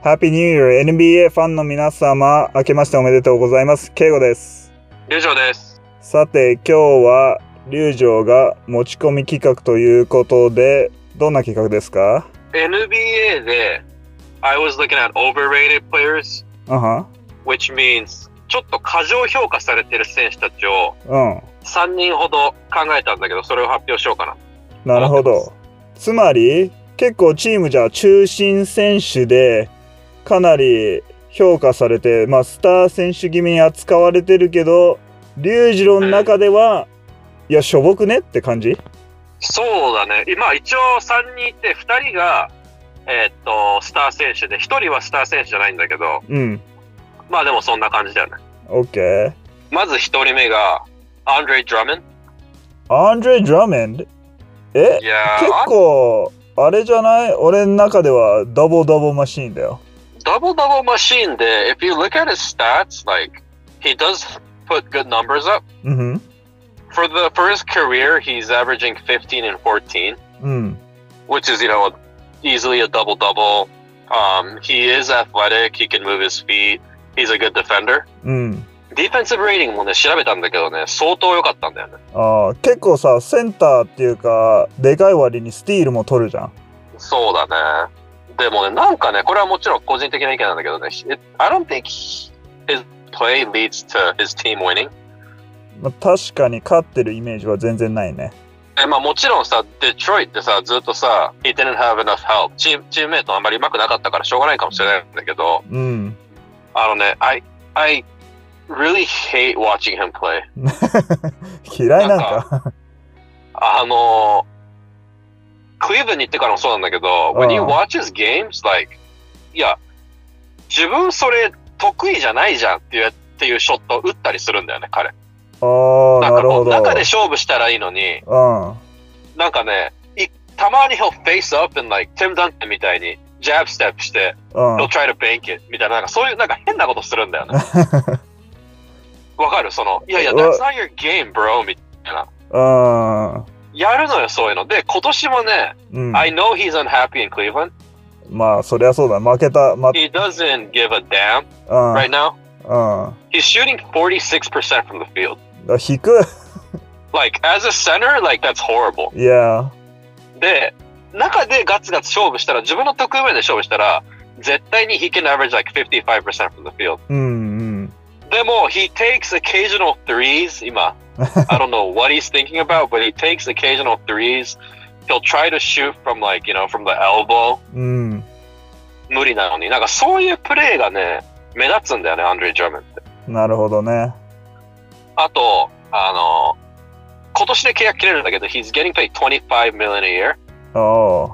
ハッピーニューイヤー NBA ファンの皆様、明けましておめでとうございます。ケイゴです。 龍城です。 さて、今日は龍城が持ち込み企画ということで、どんな企画ですか？ NBA で I was looking at overrated players, which means ちょっと過剰評価されてる選手たちを3人ほど考えたんだけど、それを発表しようかな。 なるほど。つまり、結構チームじゃ中心選手で、かなり評価されて、スター選手気味に扱われてるけど、龍二郎の中では、いや、しょぼくねって感じ？ そうだね。今、一応3人いて、2人が、スター選手で、1人はスター選手じゃないんだけど、まあでもそんな感じだよね。 OK。 まず1人目が、アンドレ・ドラモンド。 アンドレ・ドラモンド？結構、あれじゃない？俺の中ではダブルダブルマシーンだよ。 Doubleマシーンで、if you look at his stats, like, he does put good numbers up. For his career, he's averaging 15 and 14, which is, easily a double-double. He is athletic, he can move his feet, he's a good defender. Defensive rating もね、調べたんだけどね、相当良かったんだよね。 結構さ、センターっていうか、でかい割にスティールも取るじゃん。 そうだね。でもね、なんかね、これはもちろん個人的な意見なんだけどね、I don't think his play leads to his team winning. 確かに勝ってるイメージは全然ないね。 もちろんさ、デトロイトってさ、ずっとさ、he didn't have enough help. チームメイトあんまり上手くなかったからしょうがないかもしれないんだけど、I really hate watching him play. 嫌いなんかクリーブランドに行ってからもそうなんだけど、when you watch his games, like, いや、自分それ得意じゃないじゃんっていうショットを打ったりするんだよね、彼。 なるほど。 中で勝負したらいいのに、なんかね、たまにhe'll face up and like Tim Duncan みたいにジャブステップして、he'll try to bank it みたいな、なんかそういうなんか変なことするんだよね。わかる？いや、that's not your game, bro みたいな。やるのよ、そういうの。で、今年もね、I know he's unhappy in Cleveland. そりゃそうだ。負けた。 He doesn't give a damn right now. He's shooting 46% from the field. 低い。 Like, as a center, like, that's horrible. Yeah. で、中でガツガツ勝負したら、自分の得意面で勝負したら、絶対に he can average like 55% from the field. でも、he takes occasional threes, 今。I don't know what he's thinking about, but he takes occasional threes. He'll try to shoot from like, from the elbow. 無理なのに。なんかそういうプレーがね、目立つんだよね、アンドレ・ドラモンドって。 なるほどね。 あと、今年で契約切れるんだけど、he's getting paid $25 million a year.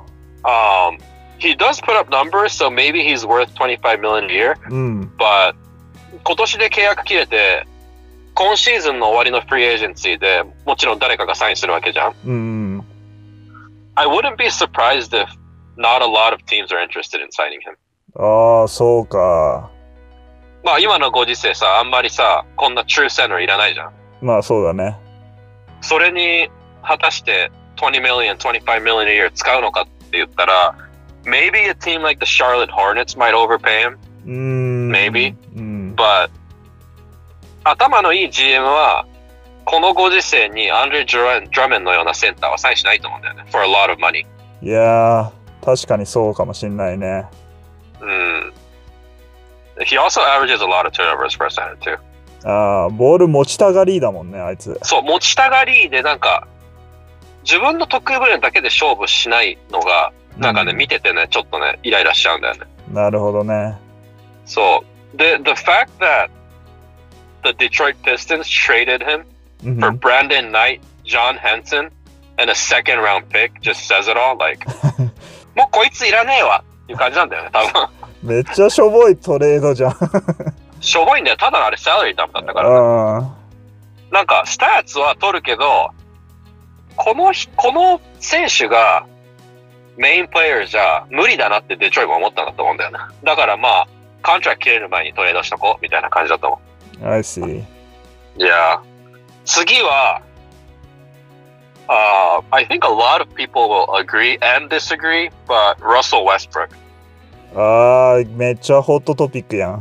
He does put up numbers, so maybe he's worth $25 million a year. But 今年で契約切れて、今シーズンの終わりのフリーエージェンシーでもちろん誰かがサインするわけじゃん。I wouldn't be surprised if not a lot of teams are interested in signing him. そうか。 今のご時世さ、あんまりさ、こんなtrue centerいらないじゃん。 そうだね。 それに果たして20 million, 25 million a year 使うのかって言ったら、maybe a team like the Charlotte Hornets might overpay him. Maybe. But 頭のいい GM はこのご時世にアンドレ・ドラモンドのようなセンターはサインしないと思うんだよね。For a lot of money. いやー、確かにそうかもしんないね。 He also averages a lot of turnovers for a center too. ボール持ちたがりだもんね、あいつ。 そう、持ちたがりでなんか自分の得意分野だけで勝負しないのがなんかね、見ててね、ちょっとね、イライラしちゃうんだよね。 なるほどね。 そう。で、the fact that the Detroit Pistons traded him for Brandon Knight, John Henson, and a second round pick just says it all. Like, もうこいついらねえわっていう感じなんだよね、多分。 めっちゃしょぼいトレードじゃん。 しょぼいんだよ。ただのあれサラリーダムだったから、ね。なんか、スタッツは取るけど、この選手がメインプレイヤーじゃ無理だなってデトロイトも思ったんだと思うんだよね。だからコントラクト切れる前にトレードしとこうみたいな感じだと思う。 I see. Yeah. 次は、I think a lot of people will agree and disagree, but Russell Westbrook. あー、めっちゃホットトピックやん。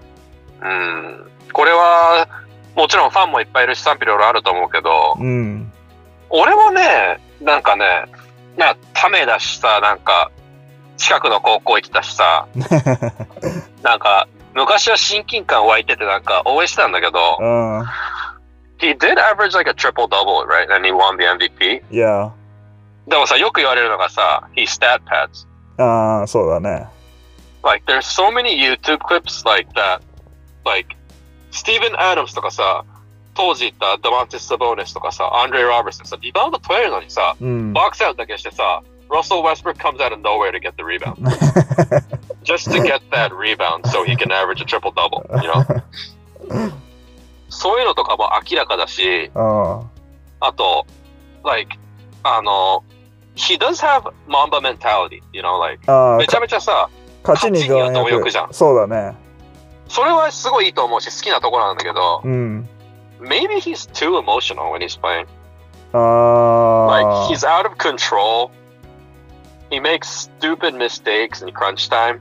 これは、もちろんファンもいっぱいいるし賛否両論あると思うけど、俺もね、なんかね、ためだしさ、なんか、近くの高校行ってたしさ、なんか、昔は親近感湧いててなんか応援してたんだけど、He did average like a triple double, right? And he won the MVP. Yeah. でもさ、よく言われるのがさ、he stat pads. ああ、そうだね。 Like, there's so many YouTube clips like that. Like, Steven Adams とかさ、当時言ったダマンティス・サボーネスとかさ、アンドレイ・ロバーツさ、リバウンド取れるのにさ、ボックスアウトだけしてさ、Russell Westbrook comes out of nowhere to get the rebound. Just to get that rebound so he can average a triple double, you know? そういうのとかも明らかだし、あと、like, he does have Mamba mentality, you know, like, めちゃめちゃさ、勝ちには貪欲じゃん。 そうだね。 それはすごいいいと思うし、好きなところなんだけど、maybe he's too emotional when he's playing. Like, he's out of control. He makes stupid mistakes in crunch time.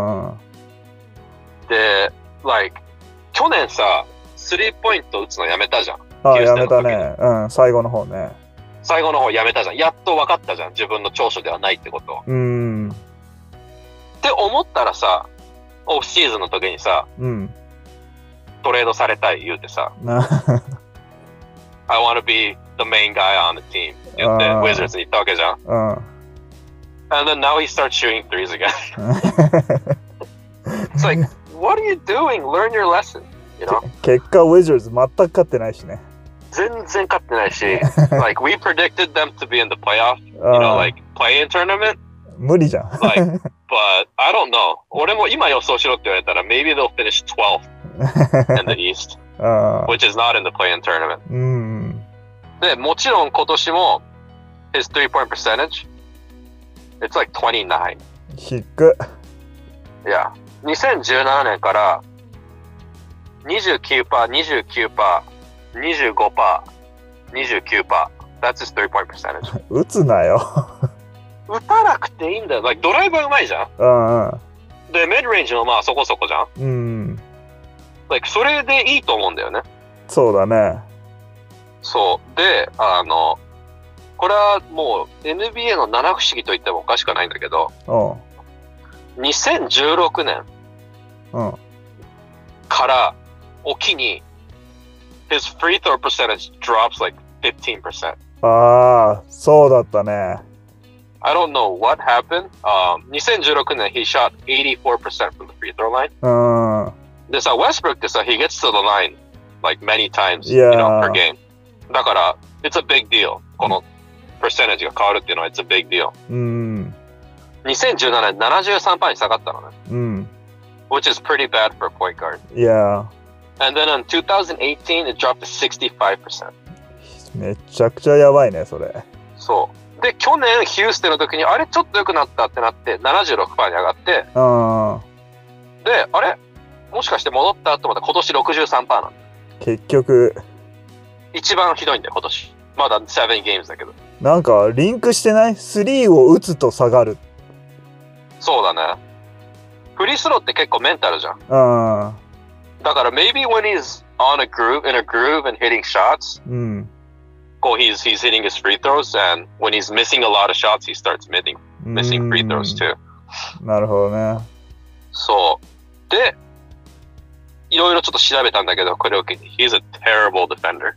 で、like, 去年さ、スリーポイント打つのやめたじゃん。 やめたね。最後の方ね。 最後の方やめたじゃん。やっと分かったじゃん。自分の長所ではないってこと。って思ったらさ、オフシーズンの時にさ、トレードされたい言うてさ、I want to be the main guy on the team 言って、Wizards に行ったわけじゃん。And then now he starts shooting threes again. It's like, what are you doing? Learn your lesson. You know? 結果、Wizards 全く勝ってないしね。 全然勝ってないし、like, we predicted them to be in the playoff, you know, like, play-in tournament. 無理じゃん。 Like, but I don't know. 俺も今予想しろって言われたら、maybe they'll finish 12th in the East, which is not in the play-in tournament. で、もちろん今年も、his three-point percentage, it's like 29. 低っ。 いや、2017年から29%、29%、25%、29%. That's his three-point percentage. 打つなよ。 打たなくていいんだよ。Like, ドライバーうまいじゃん。で、ミッドレンジもまあそこそこじゃん。Like, それでいいと思うんだよね。 そうだね。 そう。で、これはもう NBA の七不思議と言ってもおかしくないんだけど、2016年からおきに、his free throw percentage drops like 15%. ああ、そうだったね。 I don't know what happened. 2016年 he shot 84% from the free throw line. でさ、Westbrook ってさ、he gets to the line like many times, you know, per game. だから、it's a big deal. この percentage が変わるっていうのは it's a big deal. 2017年 73% に下がったのね。Which is pretty bad for a point guard. Yeah. And then in 2018 it dropped to 65%. めちゃくちゃやばいね、それ。 そう。で、去年ヒューステンの時にあれちょっと良くなったってなって 76% に上がって、で、あれもしかして戻ったと思ったら今年 63% なの。 結局一番ひどいんだよ今年。まだ7 games だけど。 なんかリンクしてない？ 3 を打つと下がる。 そうだね。フリースローって結構メンタルじゃん。だから maybe when he's on a groove, in a groove and hitting shots, こう he's hitting his free throws, and when he's missing a lot of shots, he starts missing free throws too. なるほどね。 そう。で、いろいろちょっと調べたんだけど、これを機に he's a terrible defender.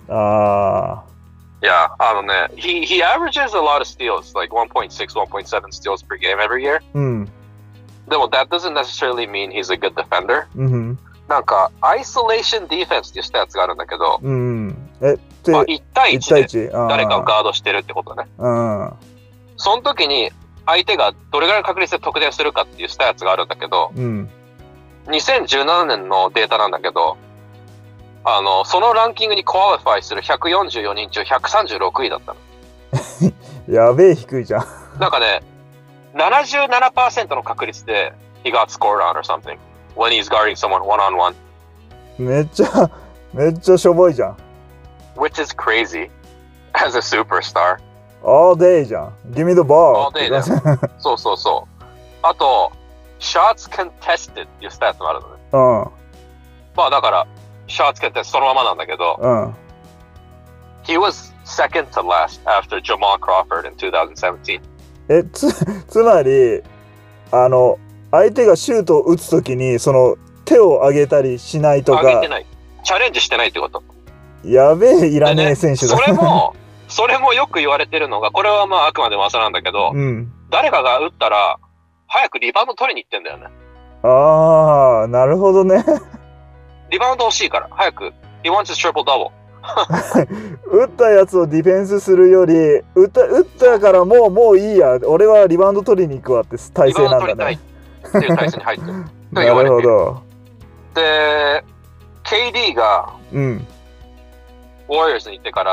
Yeah, he averages a lot of steals, like 1.6, 1.7 steals per game every year. でも that doesn't necessarily mean he's a good defender. なんか、アイソレーションディフェンスっていうスタッツがあるんだけど、1対1で誰かをガードしてるってことね。その時に相手がどれぐらいの確率で得点するかっていうスタッツがあるんだけど、2017年のデータなんだけど、そのランキングにクオリファイする144人中136位だったの。 やべえ低いじゃん。 なんかね、77% の確率で he got scored on or something when he's guarding someone one-on-one. めっちゃしょぼいじゃん。 Which is crazy as a superstar. All day じゃん。Give me the ball. All day だよ。そうそうそう。あと、 shots contested っていうスタッツもあるのね。 うん。 まあだから、shots contested そのままなんだけど、 うん。 He was second to last after Jamal Crawford in 2017. つまり、相手がシュートを打つときに、その手を上げたりしないとか。 上げてない。チャレンジしてないってこと。 やべえ、いらねえ選手だ。 それもよく言われてるのが、これはまああくまで噂なんだけど、誰かが打ったら、早くリバウンド取りに行ってんだよね。 ああ、なるほどね。 リバウンド欲しいから、早く。He wants his triple double. 打ったやつをディフェンスするより、打ったからもういいや、俺はリバウンド取りに行くわって体勢なんだね。リバウンド取りたいっていう体勢に入ってる。 なるほど。 で、KD が、Warriors に行ってから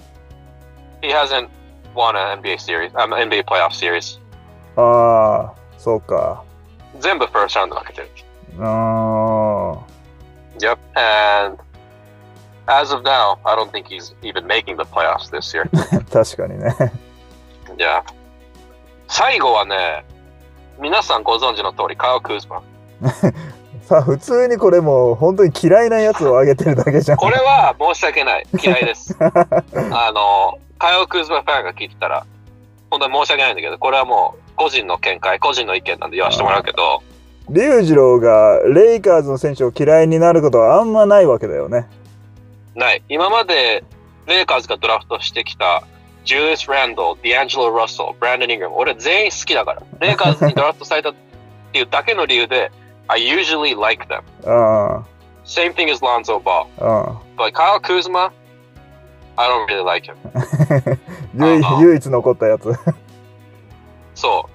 、He hasn't won an NBA series, NBA playoff series. ああ、そうか。 全部 first round で負けてる。Yep, and as of now, I don't think he's even making the playoffs this year. 確かにね。 Yeah. 最後はね、皆さんご存知の通り、カイル・クーズマ。 さあ、普通にこれもう本当に嫌いなやつをあげてるだけじゃん。 これは申し訳ない。嫌いです。カイル・クーズマファンが聞いてたら、本当に申し訳ないんだけど、これはもう個人の見解、個人の意見なんで言わせてもらうけど、 龍二郎がレイカーズの選手を嫌いになることはあんまないわけだよね。 ない。今までレイカーズがドラフトしてきたジュリアス・ランドル、ディアンジェロ・ラッソル、ブランドン・イングラム、俺全員好きだから。レイカーズにドラフトされたっていうだけの理由で、I usually like them. Same thing as Lonzo Ball. But Kyle Kuzma, I don't really like him. 唯一残ったやつ。 そう、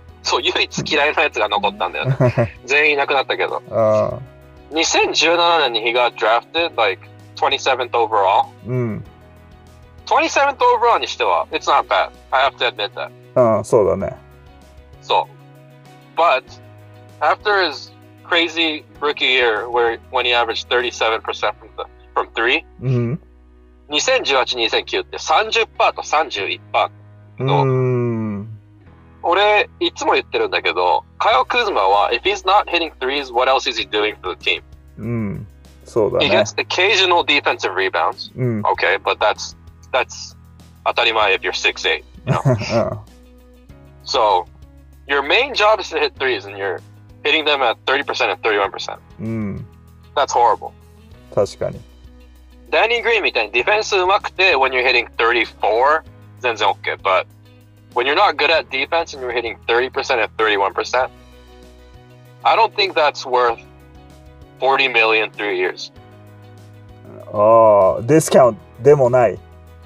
唯一嫌いなやつが残ったんだよね。全員いなくなったけど。2017年にhe got drafted like 27th overall. 27th overall にしては、it's not bad. I have to admit that. そうだね。 そう。But after his crazy rookie year when he averaged 37% from three, 2018-2019って30%と31%の俺いつも言ってるんだけど、カイル・クーズマは if he's not hitting threes, what else is he doing for the team? そうだね。 He gets occasional defensive rebounds. Okay, but that's 当たり前 if you're 6'8", you know? So your main job is to hit threes and you're hitting them at 30% and 31%. That's horrible. 確かに。 ダニー・グリーンみたいにディフェンス上手くて when you're hitting 34, 全然 OK. But when you're not good at defense and you're hitting 30% and 31%, I don't think that's worth $40 million 3 years. ディスカウントでもない。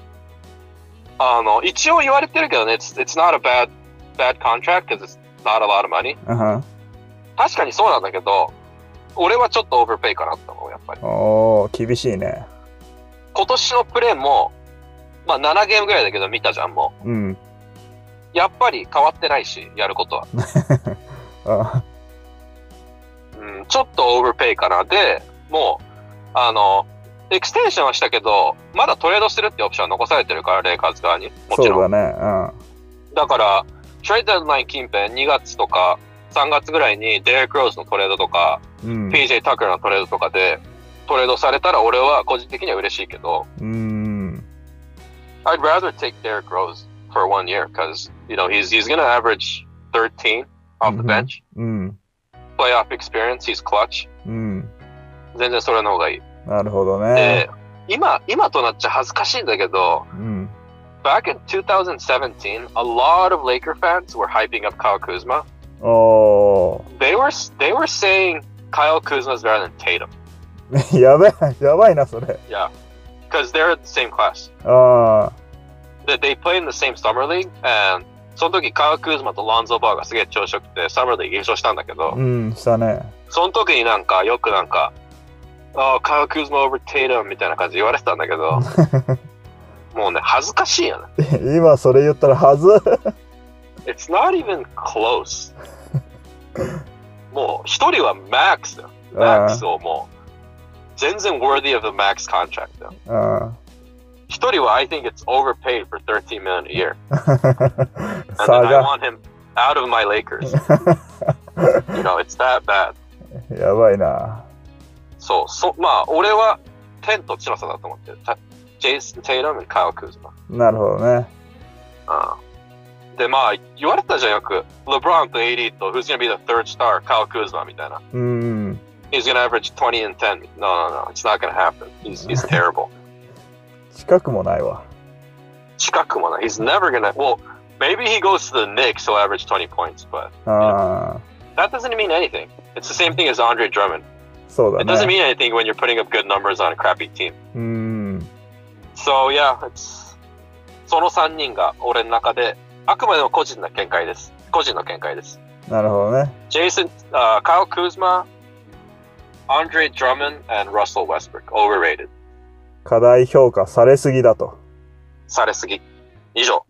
一応言われてるけどね、it's not a bad contract because it's not a lot of money. 確かにそうなんだけど、俺はちょっとオーバーペイかなって思う、やっぱり。 厳しいね。 今年のプレーも、まあ7ゲームぐらいだけど見たじゃん、もう。やっぱり変わってないし、やることは。ちょっとオーバーペイかな。で、もう、エクステンションはしたけど、まだトレードするってオプションは残されてるから、レイカーズ側に。もちろん。 そうだね。 だから、トレードデッドライン近辺2月とか3月ぐらいにデレック・ローズのトレードとか、PJ タクラのトレードとかでトレードされたら俺は個人的には嬉しいけど、I'd rather take Derrick Rose for 1 year because, you know, he's going to average 13 off the bench. Playoff experience, he's clutch. 全然それの方がいい。 なるほどね。 今となっちゃ恥ずかしいんだけど、back in 2017, a lot of Laker fans were hyping up Kyle Kuzma. They were saying Kyle Kuzma is better than Tatum. やばいなそれ。 Yeah, because they're in the same class. They play in the same summer league, and その時カイル・クーズマとロンゾー・バーがすげえ調子よくてサマーリーグ優勝したんだけど、 したね。 その時によくカイル・クーズマ over Tatum みたいな感じで言われてたんだけど、もうね恥ずかしいよね。 今それ言ったらはず。 It's not even close. もう一人は Max だよ。Max をもう全然 worthy of the Max contract だよ。一人は I think it's overpaid for $13 million a year. And then I want him out of my Lakers. You know, it's that bad. やばいな。 まあ、俺は天と地の差だと思ってる。ジェイソン・テイラム、カイル・クーズマ。 なるほどね。 で、まあ、言われたじゃんよく。レブロンと AD と Who's gonna be the third star? カイル・クーズマみたいな。He's gonna average 20 and 10. No, it's not gonna happen. He's terrible. 近くもないわ。 近くもない。He's never gonna. Well, maybe he goes to the Knicks, he'll average 20 points, but that doesn't mean anything. It's the same thing as Andre Drummond. そうだね。 It doesn't mean anything when you're putting up good numbers on a crappy team. So yeah,その3人が俺の中であくまでも個人の見解です。個人の見解です。 なるほどね。 Jason, Kyle Kuzma, Andre Drummond, and Russell Westbrook. Overrated. 過大評価されすぎだと。 されすぎ。以上。